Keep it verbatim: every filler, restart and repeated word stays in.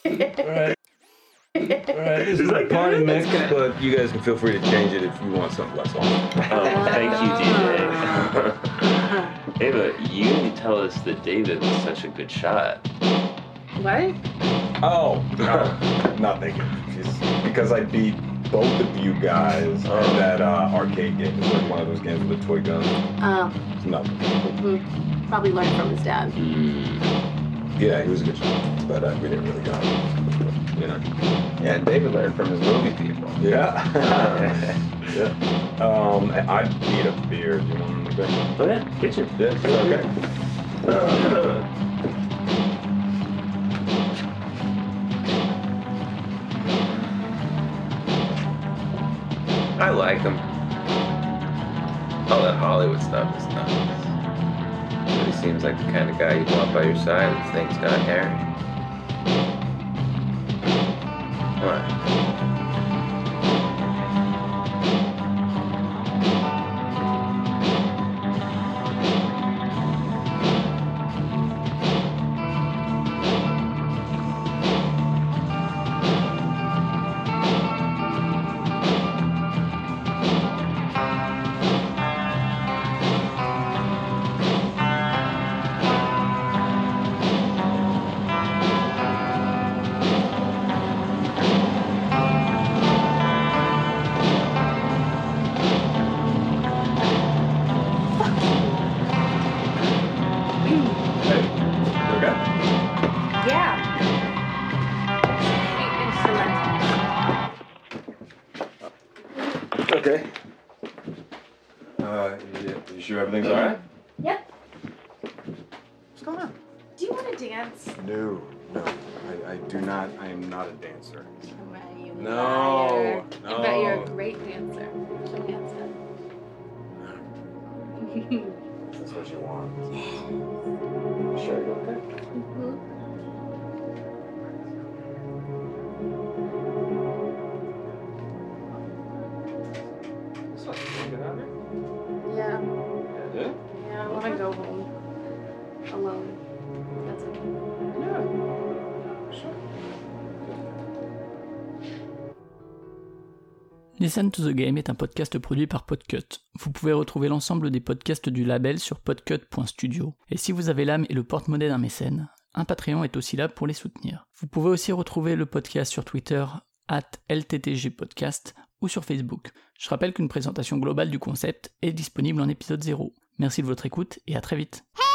Alright. Alright, this is like party mix, but you guys can feel free to change it if you want something less awesome. Oh, thank you, D J. Ava, you didn't tell us that David was such a good shot. What? Oh, no, not thinking. It's because I beat both of you guys Oh. in that uh, arcade game. It's like one of those games with a toy gun. Oh, It's nothing. mm-hmm. Probably learned from his dad. Mm. Yeah, he was a good shot, but uh, we didn't really got him. You know. Yeah, and David learned from his movie people. Yeah. yeah. Um, I need a beer. Do you want anything? Oh yeah, kitchen. Yeah, it's okay. Uh, I like him. All that Hollywood stuff is nuts. But he seems like the kind of guy you'd want by your side if things got hairy. What? Okay. Uh, you, you sure everything's alright? Yep. What's going on? Do you want to dance? No, no. I, I do not. I am not a dancer. Oh, you No, liar. no. I bet you're a great dancer. Show me how to. That's what you want. You sure you're okay? Mhm. This one's going to get out of here? Yeah. Yeah? Yeah, I want to go home. Alone. That's okay. Yeah. Sure. Listen to the Game est un podcast produit par Podcut. Vous pouvez retrouver l'ensemble des podcasts du label sur podcut point studio. Et si vous avez l'âme et le porte-monnaie d'un mécène, un Patreon est aussi là pour les soutenir. Vous pouvez aussi retrouver le podcast sur Twitter arobase L T T G podcast ou sur Facebook. Je rappelle qu'une présentation globale du concept est disponible en épisode zéro. Merci de votre écoute et à très vite.